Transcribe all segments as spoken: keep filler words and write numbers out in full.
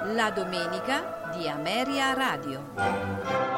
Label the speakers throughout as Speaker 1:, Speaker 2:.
Speaker 1: La domenica di Ameria Radio.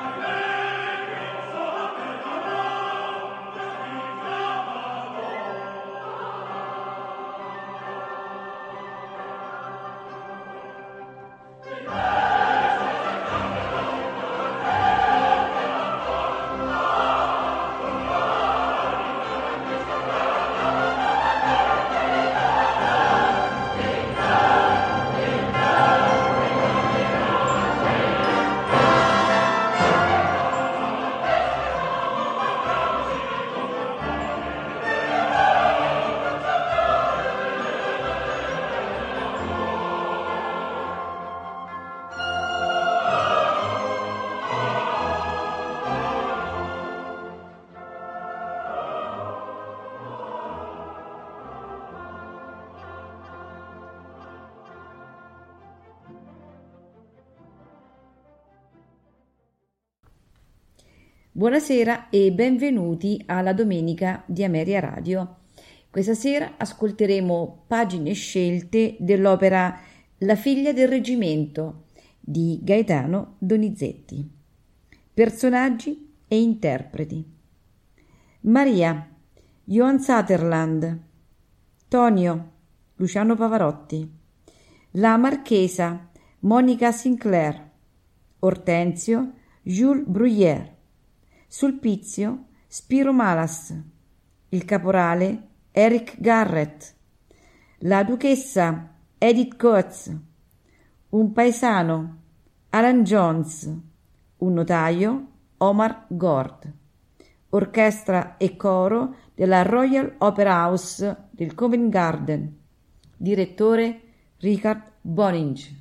Speaker 2: Buonasera e benvenuti alla domenica di Ameria Radio. Questa sera ascolteremo pagine scelte dell'opera La figlia del reggimento di Gaetano Donizetti. Personaggi e interpreti: Maria, Johann Sutherland; Tonio, Luciano Pavarotti; la Marchesa, Monica Sinclair; Ortensio, Jules Bruyère; Sulpizio, Spiro Malas; il caporale, Eric Garrett; la duchessa, Edith Coates; un paesano, Alan Jones; un notaio, Omar Gord; orchestra e coro della Royal Opera House del Covent Garden; direttore Richard Boninge.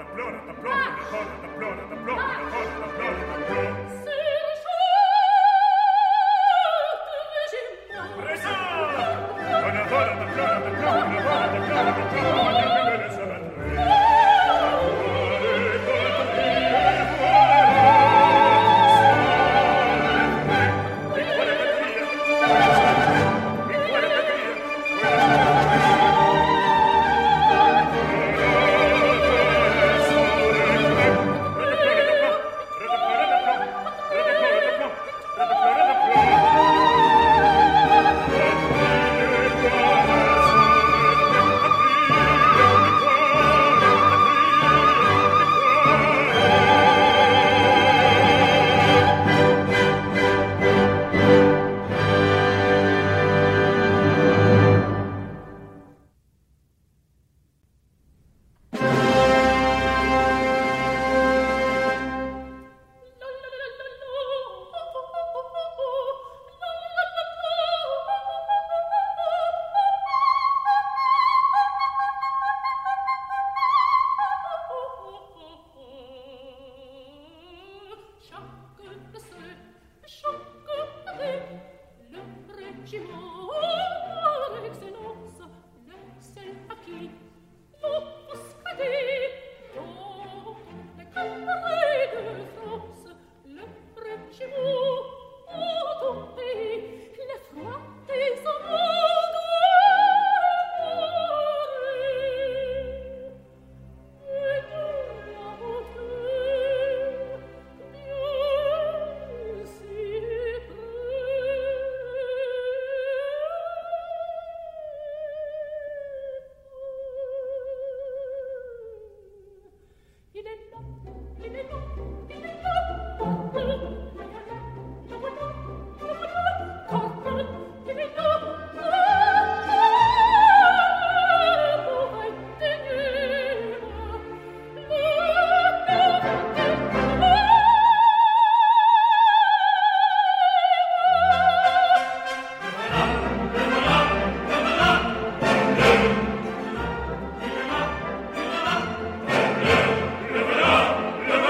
Speaker 3: Libera,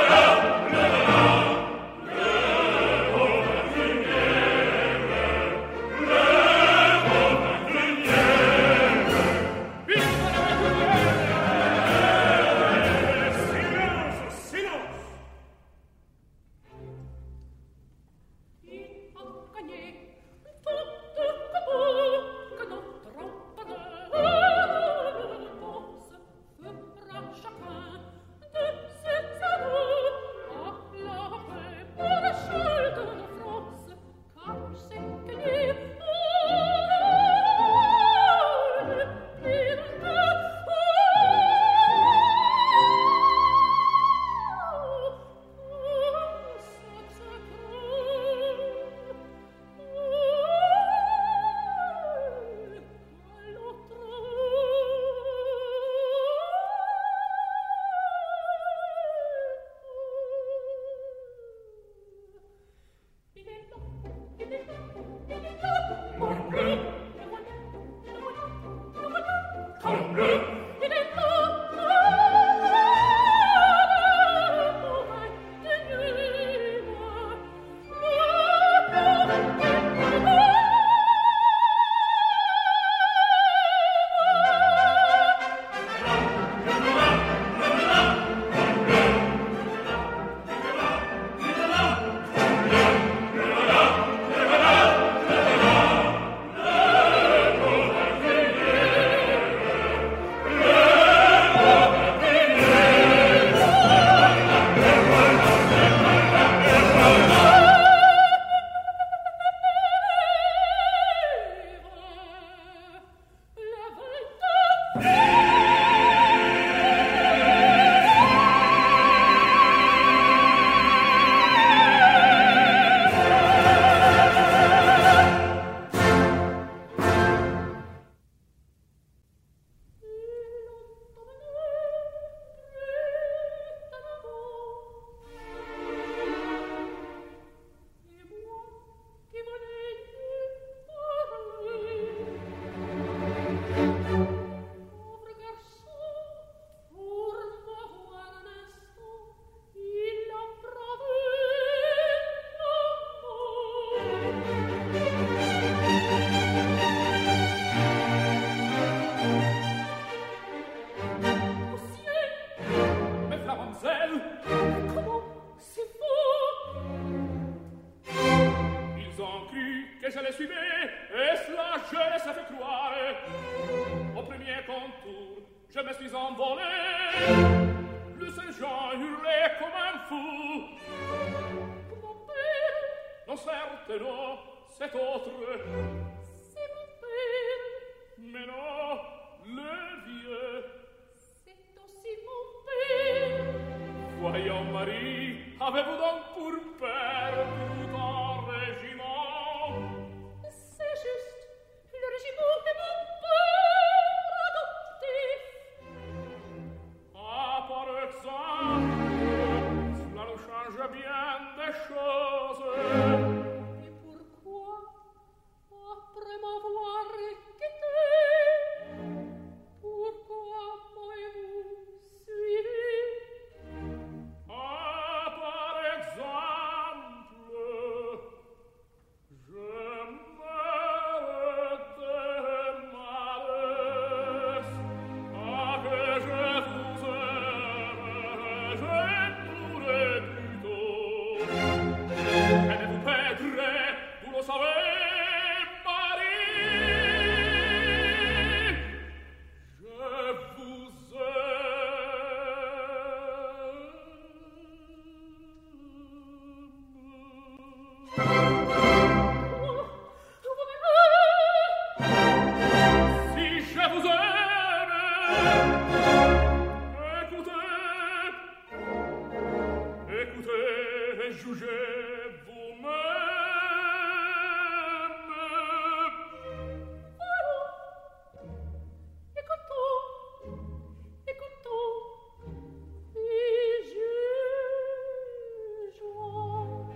Speaker 3: Comment c'est faux? Ils ont cru que je les suivais, et cela je les ai fait croire. Au premier contour, je me suis envolé. Le sergent hurlait comme un fou. Pour mon père? Non, certes, non, c'est autre. C'est mon père. Mais non, le vieux. C'est aussi mon père. Voyons, Marie, avez-vous donc pour père tout un régiment? C'est juste, le régiment de mon père adoptif. Ah, par exemple, cela nous change bien des choses. Et pourquoi, après m'avoir quitté, pourquoi m'avez-vous suivi? Ah, par exemple, je meurs de malheur. Ah, que je vous aime, je mourrai plutôt. Et ne vous perdrez, vous le savez, Marie. Je vous aime. Si je vous aime, écoutez, écoutez et jugez vous-même. Allons, écoutons, écoutons et jugeons.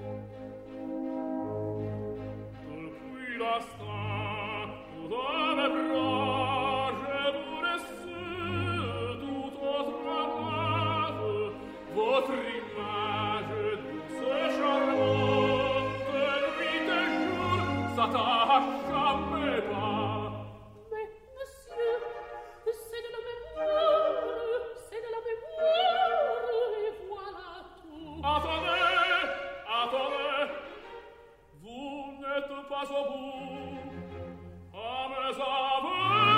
Speaker 3: Depuis l'instant où dans mes bras je vous laisse tout autre amage, votre image douce, charmante, nuit et jour s'attache à mes pas. Mais, monsieur, c'est de la mémoire, c'est de la mémoire, et voilà tout. Attendez, attendez, vous n'êtes pas au bout. À mes aveux,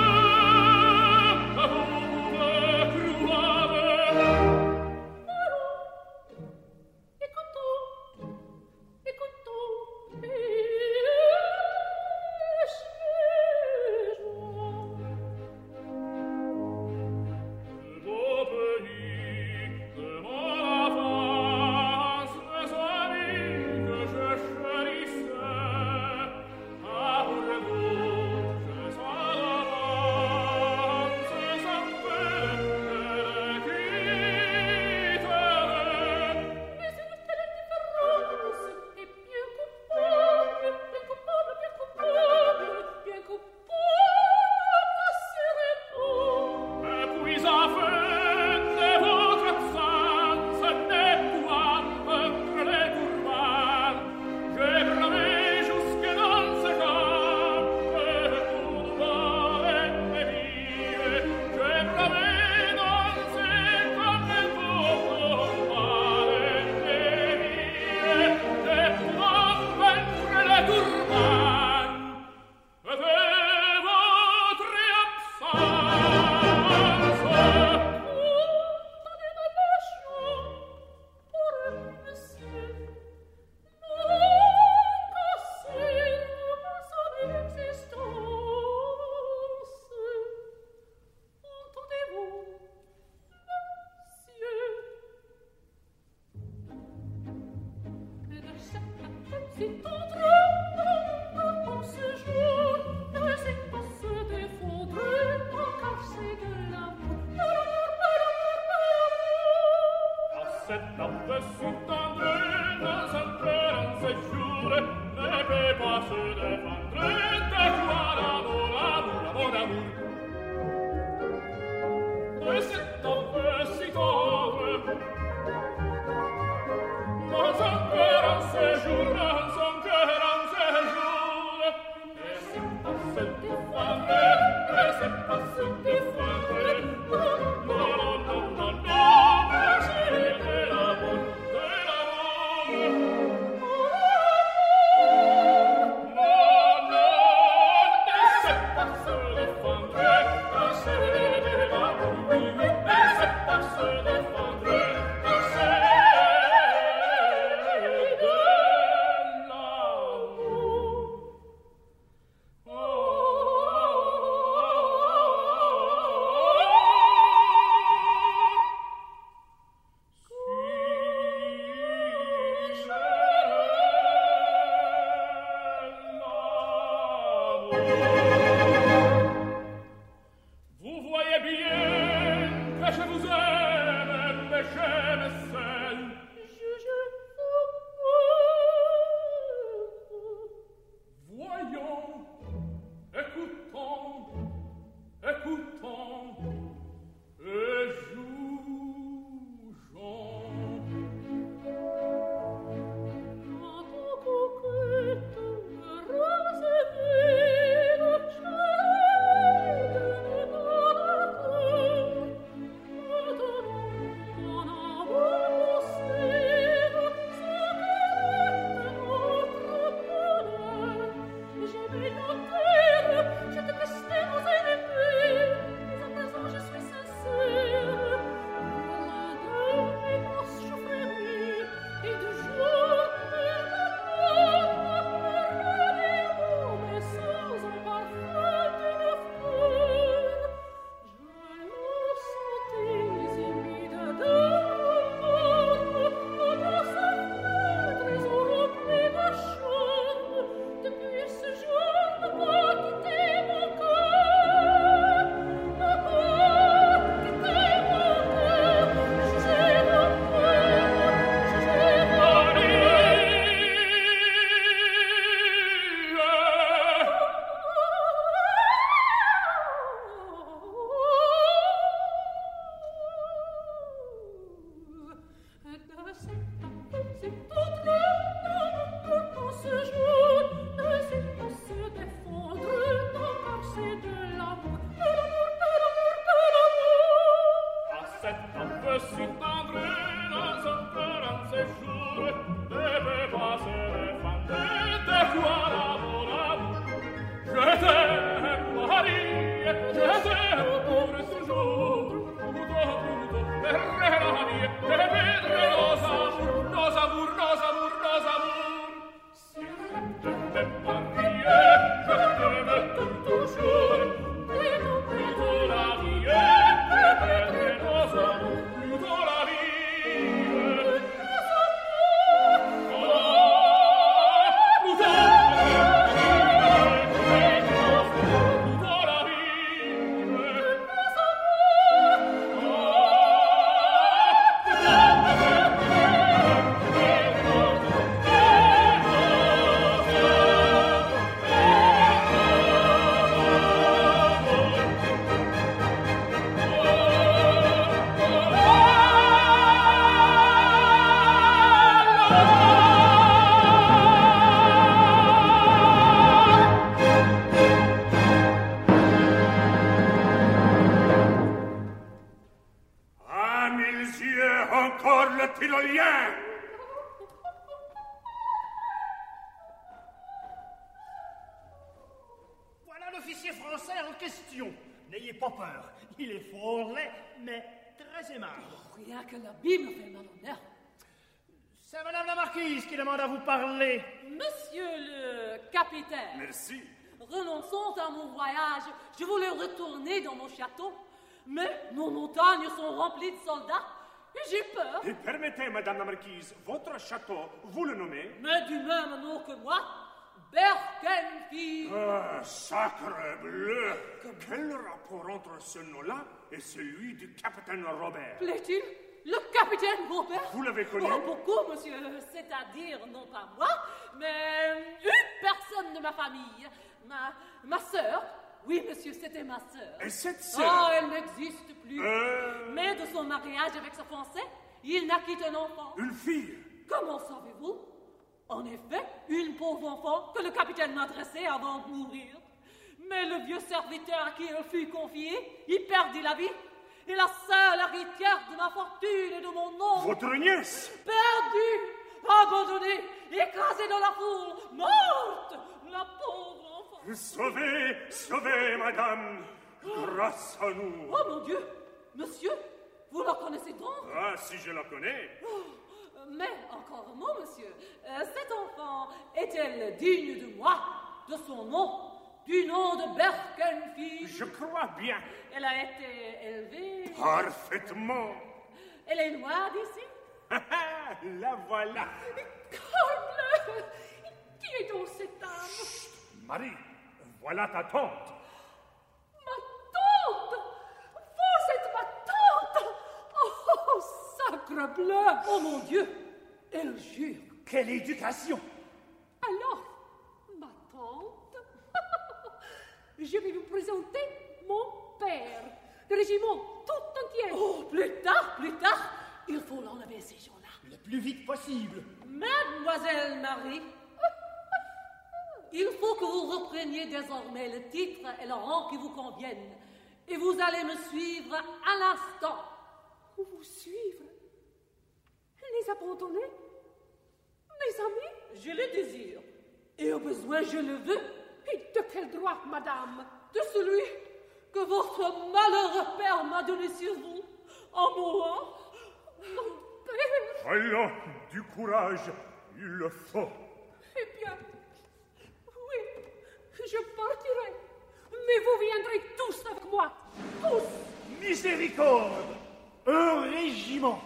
Speaker 3: vous pouvez croire. Allons, écoutons, écoutons, et jugeons. De beau pays, de mon avance, mes amis que je chérissais, après vous, je sens l'avance, sans peine, je les quitterai. Mais une telle différence est bien coupable, bien coupable, bien coupable, bien coupable, assurément. Et puis afin de votre absence, des pouvoirs entre les courroirs, j'ai bravé jusque dans ce camp, et pour voler et vivre, j'ai bravé dans ce camp et pour voler et vivre, des pouvoirs entre les courroirs, et de votre absence. Condamnez ma nation pour un monsieur. Non casser son existence. Entendez-vous, monsieur? Et de chaque petit autre, en ce jour, ne sait pas se défendre, encore c'est de l'amour, l'amour, l'amour, l'amour. À cet aperçu tendre, dans un cœur, en ces jours, ne peut pas se défendre, de quoi l'amour, l'amour, l'amour, l'amour. De cet aperçu tendre, dans un cœur, en ces jours, dans un cœur, en ces jours, ne sait pas se défendre, ne sait pas se défendre. Non, non, non, non, non, non,
Speaker 4: Merci. Renonçons à mon voyage. Je voulais retourner dans mon château, mais nos montagnes sont remplies de soldats et j'ai peur.
Speaker 3: Et permettez, Madame la Marquise, votre château, vous le nommez?
Speaker 4: Mais du même nom que moi, Berkenfield.
Speaker 3: Ah, sacre bleu! Quel rapport entre ce nom-là et celui du capitaine Robert?
Speaker 4: Plaît-il? Le capitaine Robert?
Speaker 3: Vous l'avez connu?
Speaker 4: Oh, beaucoup, monsieur. C'est-à-dire, non pas moi, mais une personne de ma famille. Ma, ma sœur. Oui, monsieur, c'était ma sœur.
Speaker 3: Et cette sœur?
Speaker 4: Oh, elle n'existe plus.
Speaker 3: Euh...
Speaker 4: Mais de son mariage avec ce Français, il n'a qu'un enfant.
Speaker 3: Une fille?
Speaker 4: Comment savez-vous? En effet, une pauvre enfant que le capitaine m'adressait avant de mourir. Mais le vieux serviteur à qui elle fut confiée, il perdit la vie. Et la seule héritière de ma fortune et de mon nom.
Speaker 3: Votre nièce?
Speaker 4: Perdue, abandonnée, écrasée dans la foule, morte, la pauvre enfant.
Speaker 3: Sauvez, sauvez, madame, grâce à nous.
Speaker 4: Oh mon Dieu, monsieur, vous la connaissez donc?
Speaker 3: Ah, si je la connais.
Speaker 4: Oh, mais encore un mot, monsieur. Euh, cette enfant est-elle digne de moi, de son nom? Du nom de Berkenfield?
Speaker 3: Je crois bien.
Speaker 4: Elle a été élevée...
Speaker 3: Parfaitement.
Speaker 4: Elle est noire d'ici?
Speaker 3: La voilà.
Speaker 4: Corbleu! Qui est donc cette dame?
Speaker 3: Chut, Marie, voilà ta tante.
Speaker 4: Ma tante? Vous êtes ma tante? Oh, sacre bleu! Oh mon Dieu! Elle jure.
Speaker 3: Quelle éducation!
Speaker 4: Alors, ma tante? Je vais vous présenter mon père, le régiment tout entier. Oh, plus tard, plus tard, il faut l'enlever ces gens-là.
Speaker 5: Le plus vite possible.
Speaker 4: Mademoiselle Marie, il faut que vous repreniez désormais le titre et le rang qui vous conviennent. Et vous allez me suivre à l'instant. Vous suivre? Les abandonner? Mes amis? Je le désire. Et au besoin, je le veux. Et de quel droit, madame? De celui que votre malheureux père m'a donné sur vous, en mourant. Mon père!
Speaker 3: Allons, du courage, il le faut.
Speaker 4: Eh bien, oui, je partirai. Mais vous viendrez tous avec moi. Tous!
Speaker 5: Miséricorde! Un régiment!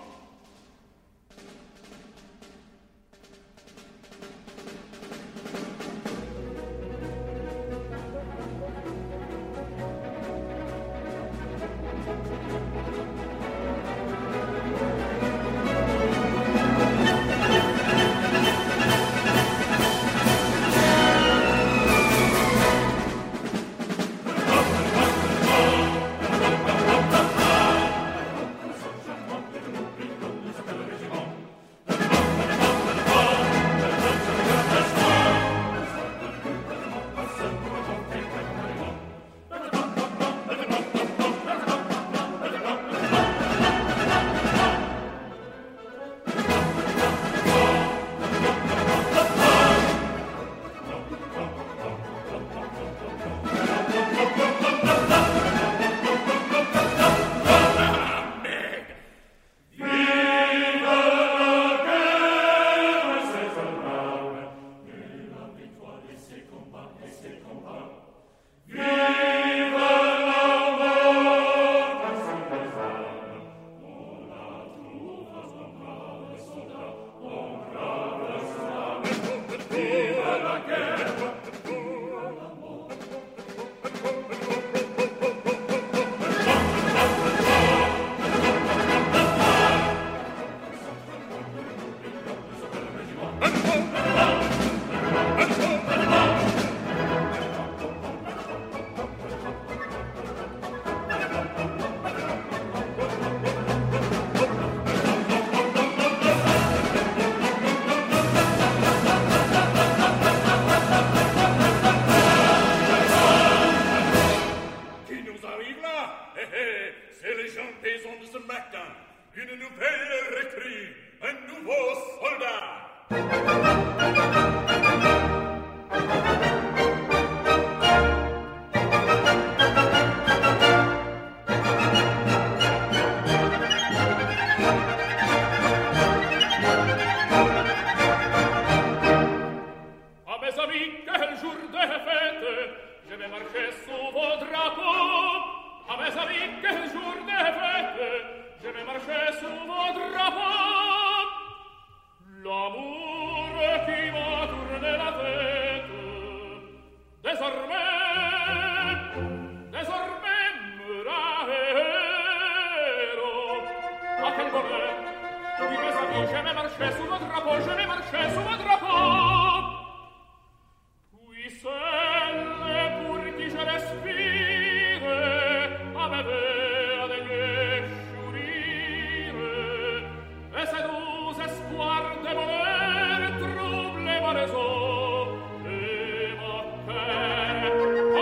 Speaker 3: vie, je vais marcher sous votre drapeau, je vais marcher sous votre drapeau. Puis celle pour qui je respire, à me ver daigner chourir, et ces doux espoirs de bonheur troublent ma raison et mon cœur.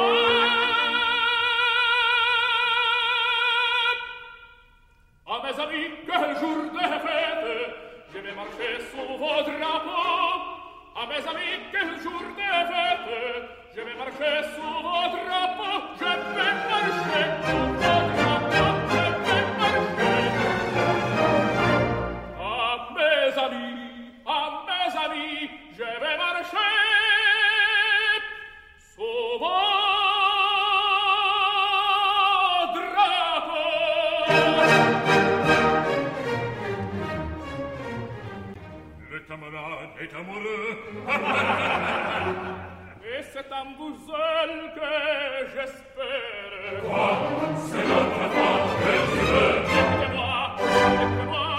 Speaker 3: Ah, à mes amis, quel jour de fête, je vais marcher sous vos drapeaux. À mes amis, quel jour de fête, je vais marcher sous vos drapeaux. Je vais marcher sous vos drapeaux, je vais marcher. À mes amis, à mes amis, je vais marcher sous vos
Speaker 6: camarade est amoureux.
Speaker 3: Et c'est un vous seul que j'espère.
Speaker 6: Quoi? C'est notre femme que tu veux.
Speaker 3: Écoutez-moi, écoutez-moi.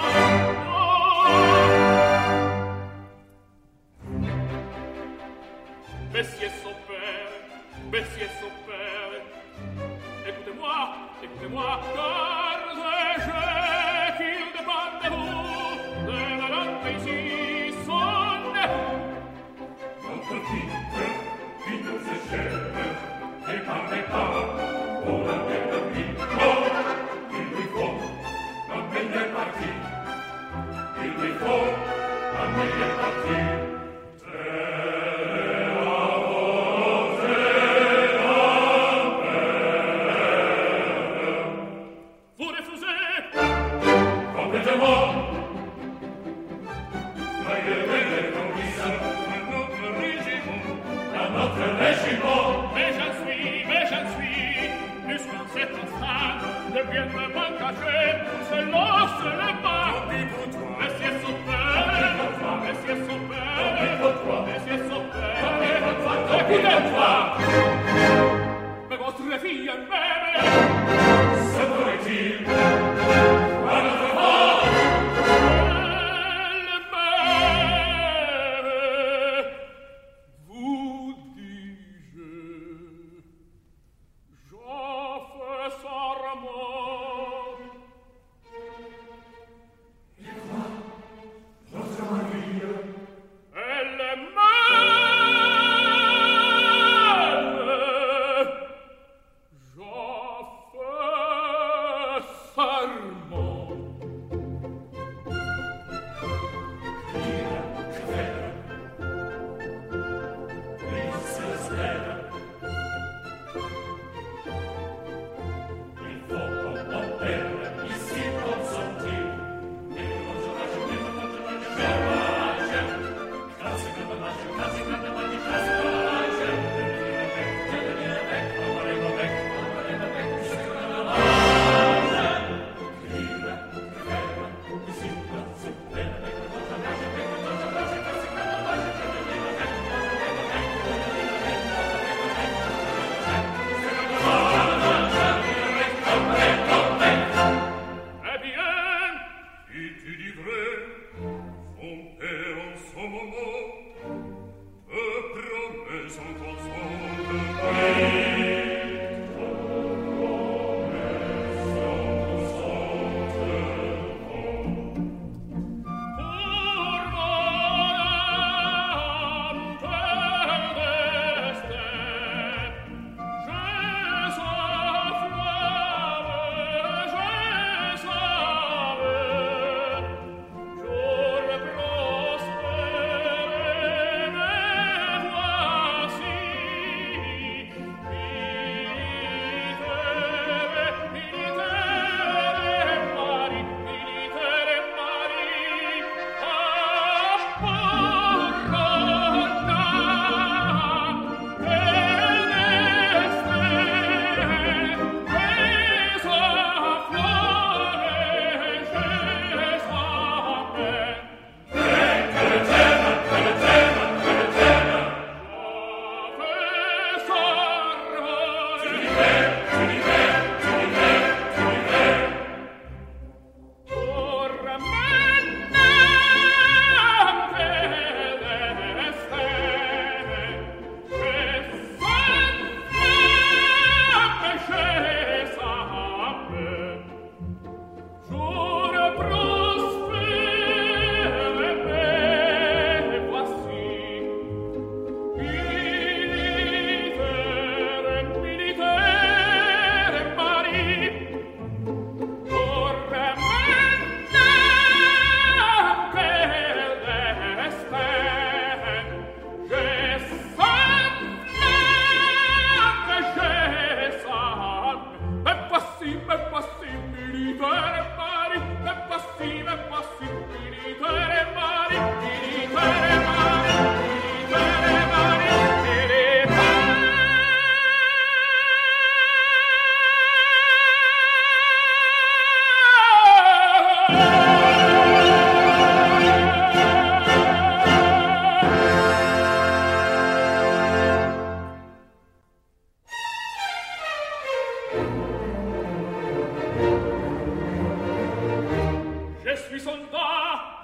Speaker 3: Oh. Messieurs son père, messieurs son père, écoutez-moi, écoutez-moi, car je qu'il dépend de vous, de la langue ici.
Speaker 6: Notre fille, qui nous est chère, et par les pas, pour la paix de vie, oh, il lui faut la meilleure partie. Il lui faut la meilleure partie.
Speaker 3: Vous refusez?
Speaker 6: Complètement. Soyez les conquistants à notre régiment, à notre régiment.
Speaker 3: Mais j'en suis, mais j'en suis, puisqu'en cet instant, je viens de m'engager pour cela, ce n'est pas. Messieurs son père, messieurs son père.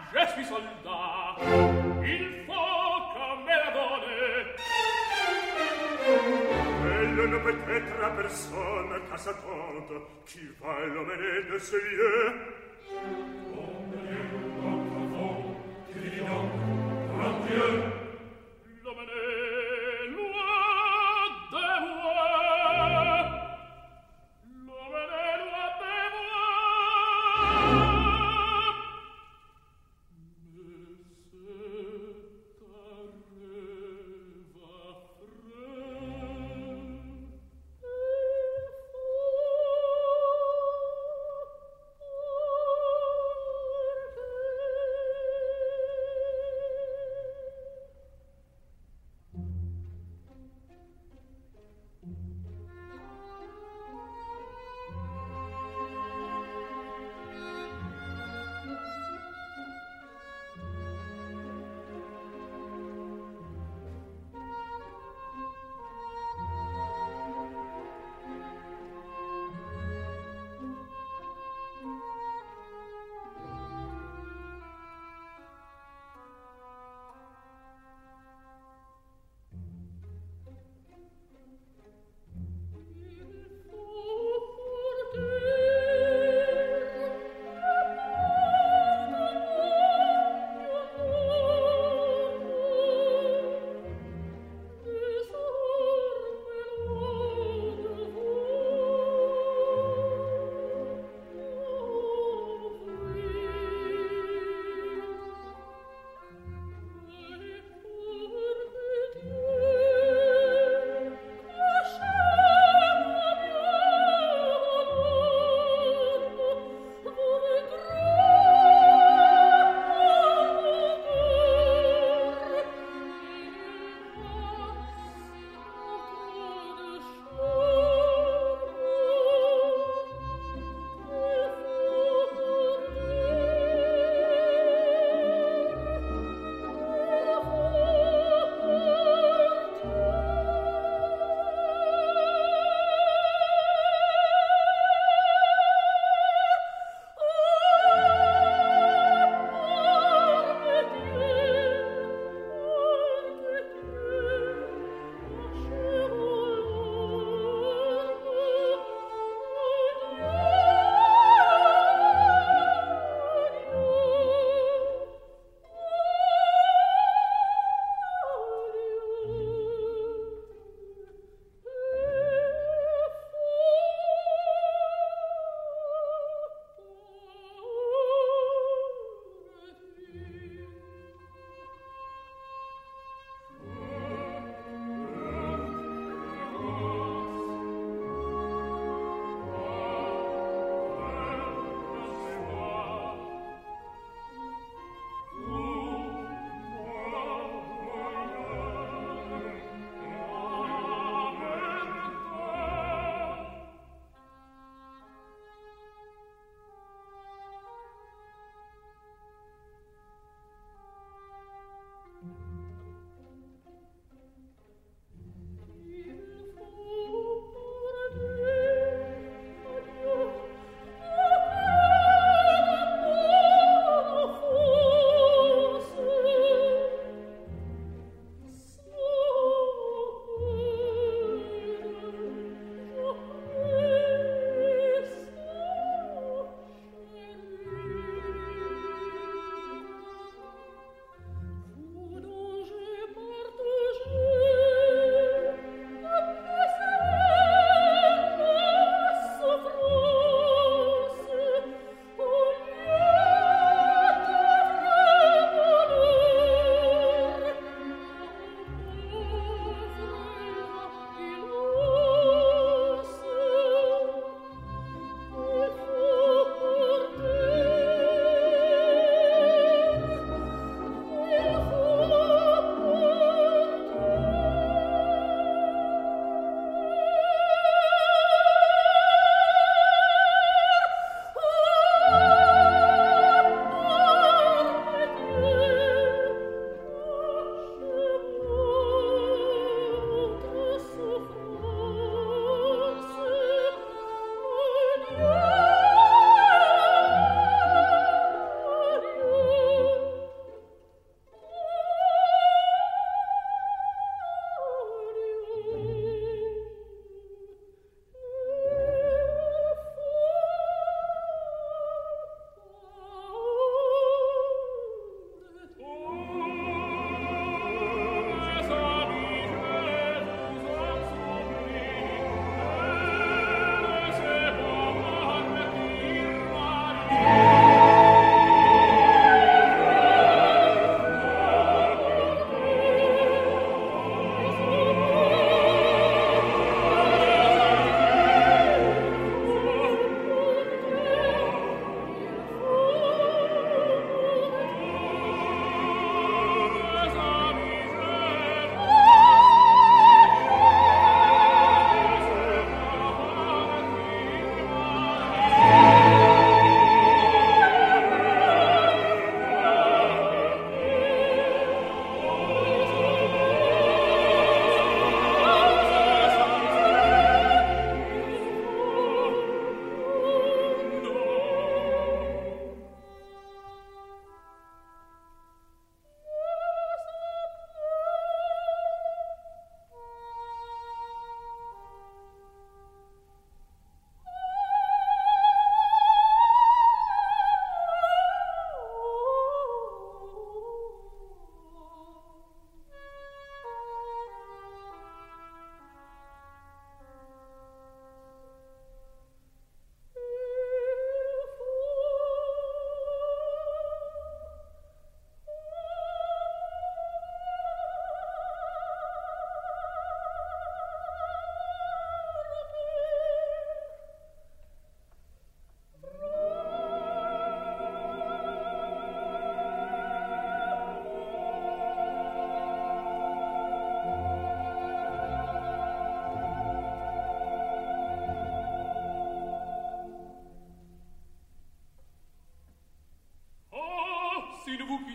Speaker 3: je suis soldat, il faut qu'on me la donne.
Speaker 6: Elle ne peut être à personne qu'à sa tante, qui va l'emmener de ce lieu. Mon Dieu, notre enfant, qui dit donc, mon Dieu,
Speaker 3: l'emmener loin de moi, l'emmener loin de moi. Mais c'est un rêve affreux.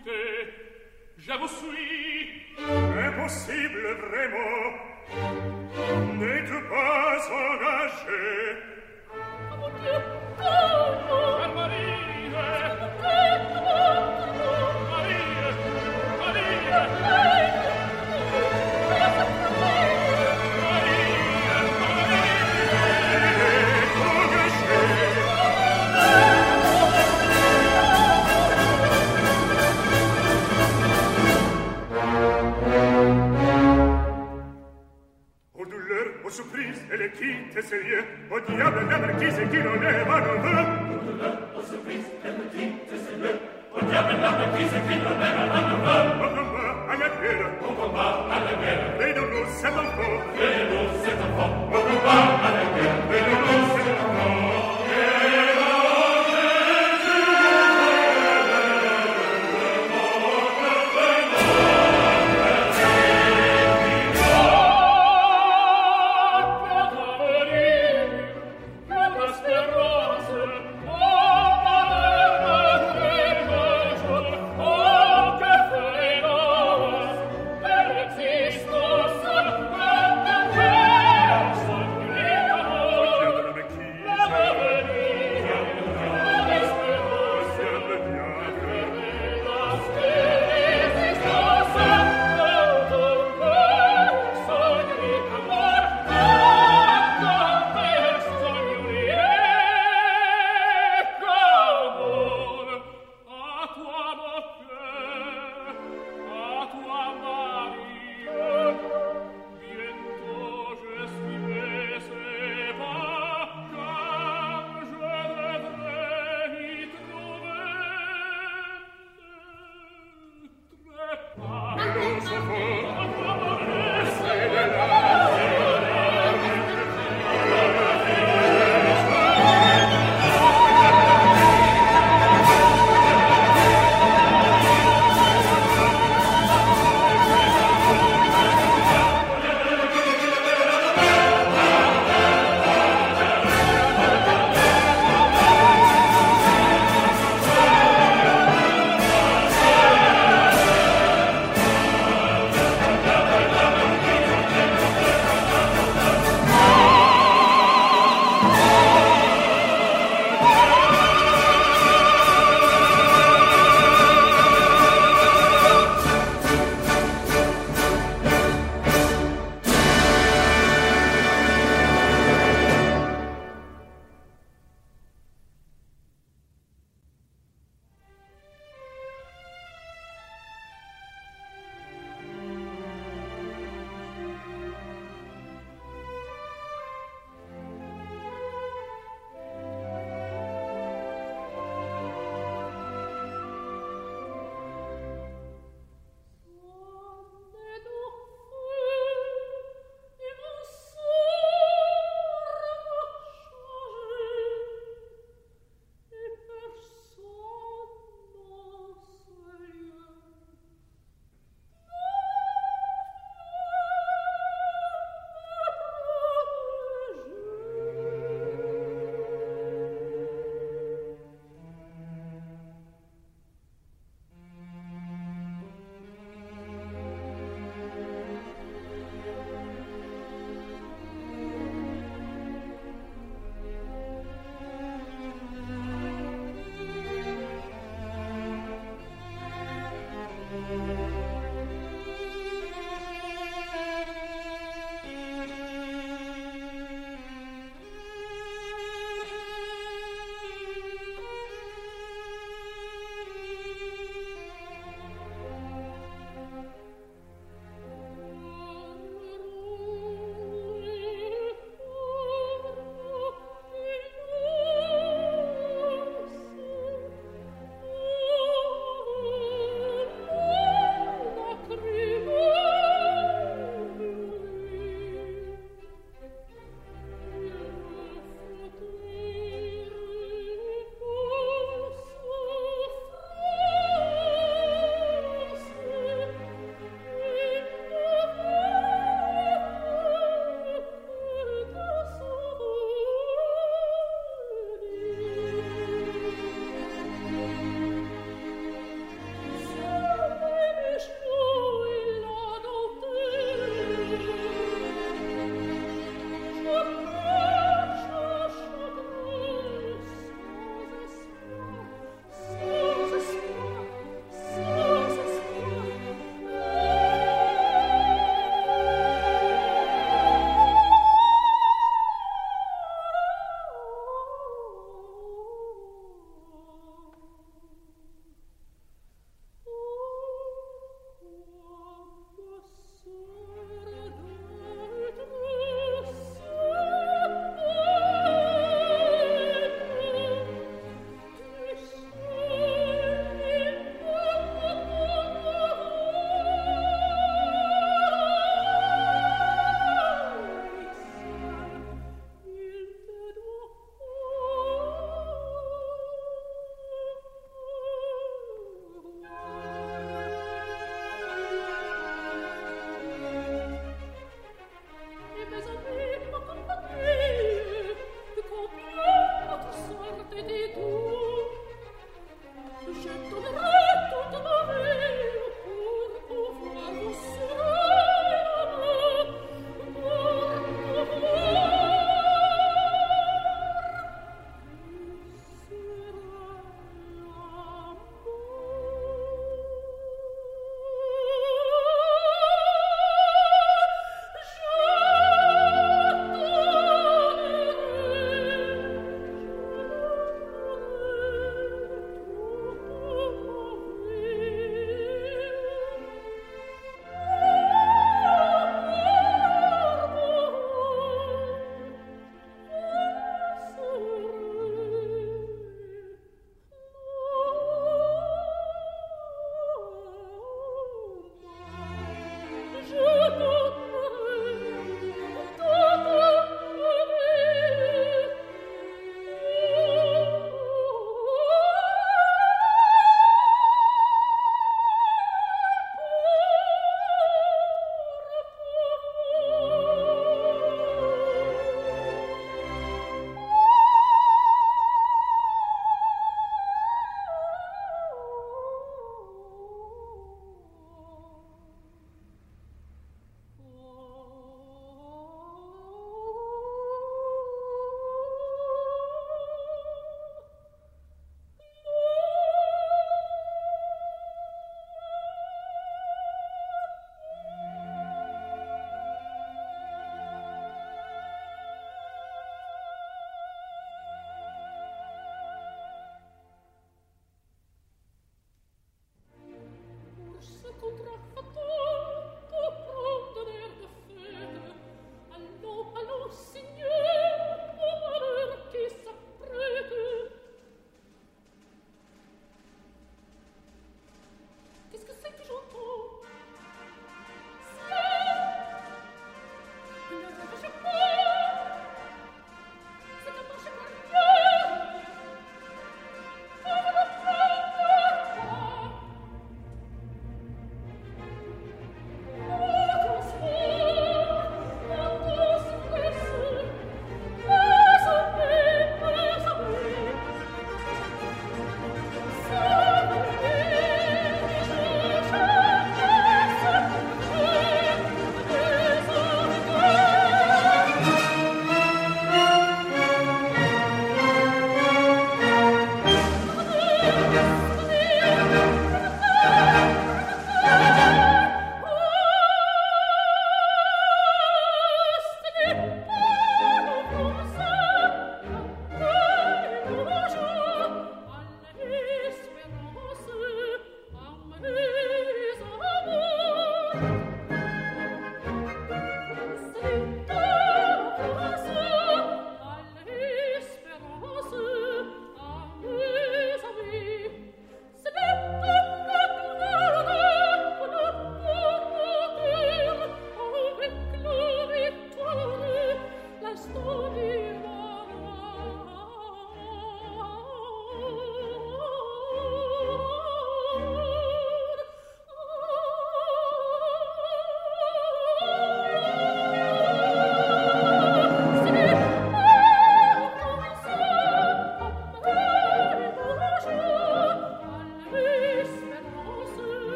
Speaker 3: quitter. Je vous suis.
Speaker 6: Impossible, vraiment. N'êtes pas engagé.
Speaker 4: Oh mon Dieu! Oh!
Speaker 3: Marie!
Speaker 6: Surprise, elle quitte ses lieux. Au diable la marquise qui non est malheureux.
Speaker 3: Au surprise, elle quitte ses lieux. Au diable la marquise qui non est malheureux.
Speaker 6: Au combat à la guerre.
Speaker 3: Au combat à la guerre.
Speaker 6: Veillons-nous cet enfant.
Speaker 3: Veillons-nous cet enfant. Au combat à la guerre. Veillons-nous cet enfant.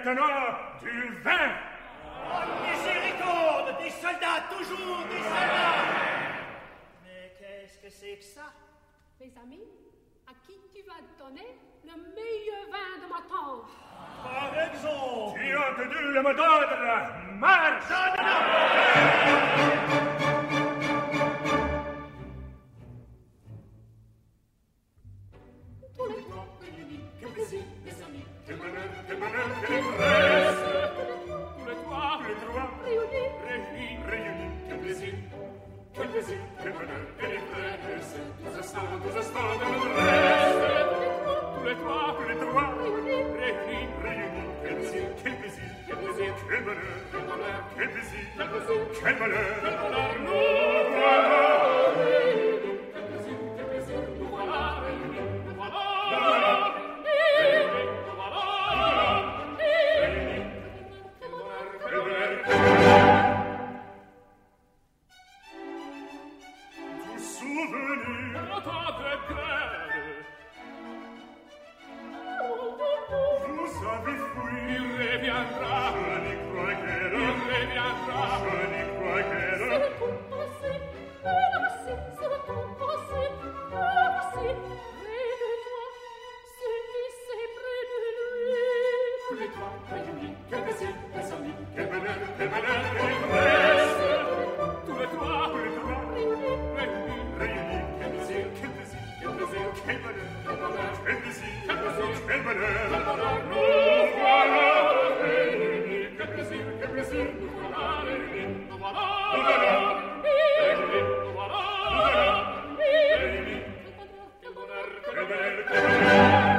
Speaker 6: maintenant du vin.
Speaker 5: Oh, miséricorde, des soldats, toujours des soldats. Mais qu'est-ce que c'est que ça?
Speaker 4: Mes amis, à qui tu vas donner le meilleur vin de ma tante?
Speaker 5: Par exemple.
Speaker 6: Tu as entendu le mot d'ordre. Marche!
Speaker 5: Non, non,
Speaker 4: Tous les trois réunis, quel plaisir, mes amis.
Speaker 6: Quel bonheur, quel bonheur, quelle ivresse.
Speaker 3: Tous les trois,
Speaker 6: Tous les trois,
Speaker 4: Réunis,
Speaker 3: réunis,
Speaker 6: réunis, quel plaisir, quel plaisir, quel bonheur, quelle ivresse. Tous instants, tous instants de l'adresse.
Speaker 3: tous les trois,
Speaker 6: Tous les trois,
Speaker 3: réunis,
Speaker 6: réunis, quel plaisir, quel plaisir,
Speaker 3: quel plaisir,
Speaker 6: quel bonheur,
Speaker 3: quel bonheur,
Speaker 6: quel plaisir,
Speaker 3: quel plaisir,
Speaker 6: quel bonheur.
Speaker 3: quel bonheur, nous
Speaker 6: Nous
Speaker 3: voilà
Speaker 6: voilà.
Speaker 3: réunis. Quel plaisir, quel plaisir, nous voilà réunis. Nous voilà
Speaker 6: voilà.
Speaker 3: réunis. Nous voilà réunis. Quel bonheur, quel
Speaker 6: Quel
Speaker 3: bonheur,
Speaker 6: bonheur, quel bonheur. Vous souvenir,
Speaker 3: le temps de guerre.
Speaker 6: vous avez fui.
Speaker 3: Il reviendra,
Speaker 6: Je n'y crois
Speaker 3: il
Speaker 6: qu'elle,
Speaker 3: reviendra.
Speaker 6: je n'y crois
Speaker 4: c'est
Speaker 6: qu'elle.
Speaker 4: le tout passé. Le voici, c'est le tout passé. Le voici, près de toi. Celui c'est près de lui.
Speaker 3: Tous les trois, réunis, quel plaisir, mes amis.
Speaker 6: Quel bonheur, quel bonheur, quelle ivresse.
Speaker 3: Tous les trois,
Speaker 6: Tous les trois,
Speaker 3: réunis,
Speaker 6: réunis,
Speaker 3: quel plaisir,
Speaker 6: quel plaisir,
Speaker 3: quel plaisir,
Speaker 6: quel bonheur,
Speaker 3: quel bonheur,
Speaker 6: quel plaisir,
Speaker 3: quel plaisir,
Speaker 6: quel bonheur.
Speaker 3: quel bonheur, nous voilà réunis. Quel plaisir, quel plaisir, nous voilà réunis. Nous voilà réunis. Nous voilà réunis. Quel bonheur, quel
Speaker 6: Quel
Speaker 3: bonheur,
Speaker 6: bonheur, quel bonheur.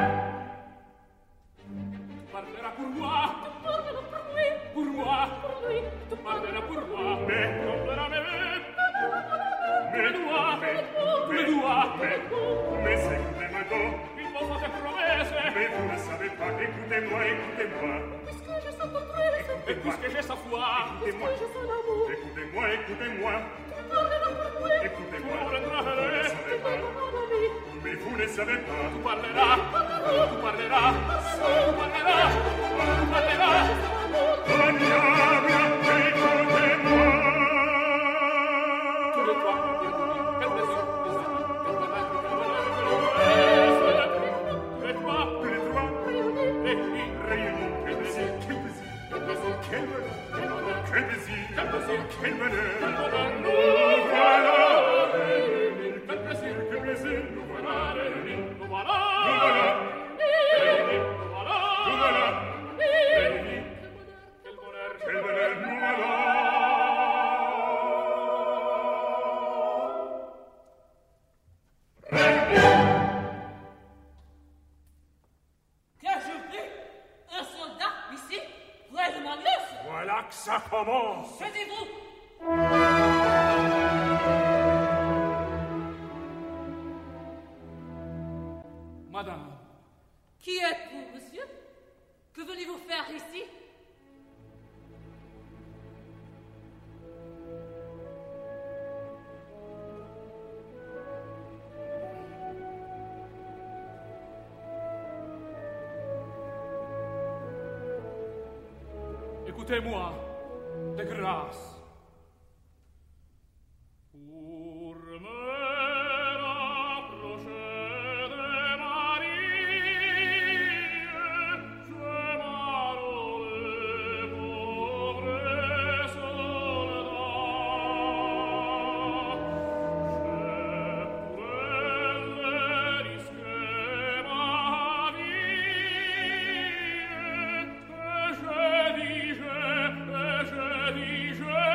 Speaker 3: tu parleras pour moi,
Speaker 4: Parlera per lui,
Speaker 3: pour moi,
Speaker 4: per lui.
Speaker 3: tu parleras pour moi.
Speaker 6: Mais,
Speaker 3: Tomberà me,
Speaker 6: mais,
Speaker 3: doigts,
Speaker 6: mais,
Speaker 3: tous les doigts.
Speaker 6: mais, mais écoutez-moi donc.
Speaker 3: Il faut faire promesse.
Speaker 6: Mais vous ne savez pas, écoutez-moi, écoutez-moi.
Speaker 4: Puisque je sens ton tresse,
Speaker 3: Et puisque j'ai sa foi,
Speaker 6: Écoutez-moi,
Speaker 4: je sens l'amour.
Speaker 6: écoutez-moi, écoutez-moi.
Speaker 4: Parlera per lui,
Speaker 6: Écoutez-moi,
Speaker 3: tu
Speaker 6: vous ne
Speaker 3: parleras,
Speaker 6: savez pas,
Speaker 4: parlera lui.
Speaker 6: mais vous ne savez pas.
Speaker 3: tu parleras, tu parleras, tu parleras, tu parleras.
Speaker 6: Agnabla, écoutez-moi.
Speaker 3: Tous les trois, quel plaisir, mes amis, quel bonheur, quel bonheur, quel bonheur. Tous les trois,
Speaker 6: Tous les trois,
Speaker 3: réunis,
Speaker 6: réunis, quel plaisir, quel plaisir,
Speaker 3: quel plaisir,
Speaker 6: quel bonheur,
Speaker 3: quel bonheur,
Speaker 6: quel plaisir,
Speaker 3: quel plaisir,
Speaker 6: quel bonheur.
Speaker 3: quel bonheur, nous voilà réunis. Quel plaisir, quel plaisir, nous voilà réunis. Nous voilà
Speaker 6: Nous voilà,
Speaker 3: réunis. Nous voilà
Speaker 6: nous voilà,
Speaker 3: réunis. Quel bonheur,
Speaker 6: quel bonheur, nous voilà.
Speaker 4: Que je vis un soldat ici, près de ma noce.
Speaker 6: Voilà que ça commence.
Speaker 4: Taisez-vous.
Speaker 3: madame.
Speaker 4: Qui êtes-vous, monsieur? Que venez-vous faire ici?
Speaker 3: Écoutez-moi, de grâce. Pour me rapprocher de Marie, je m'arrole les pauvres soldats. Je pourrais risquer ma vie, et je dis, je, et je dis, je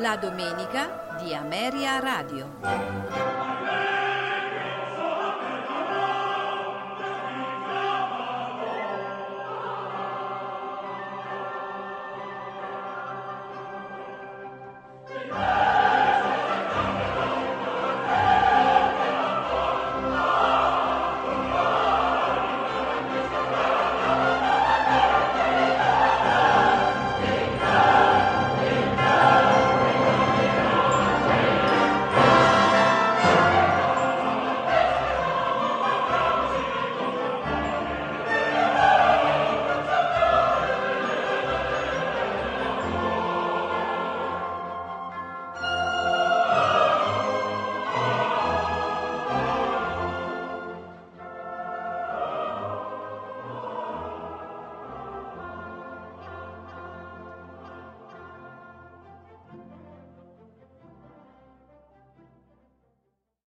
Speaker 1: La domenica di Ameria Radio.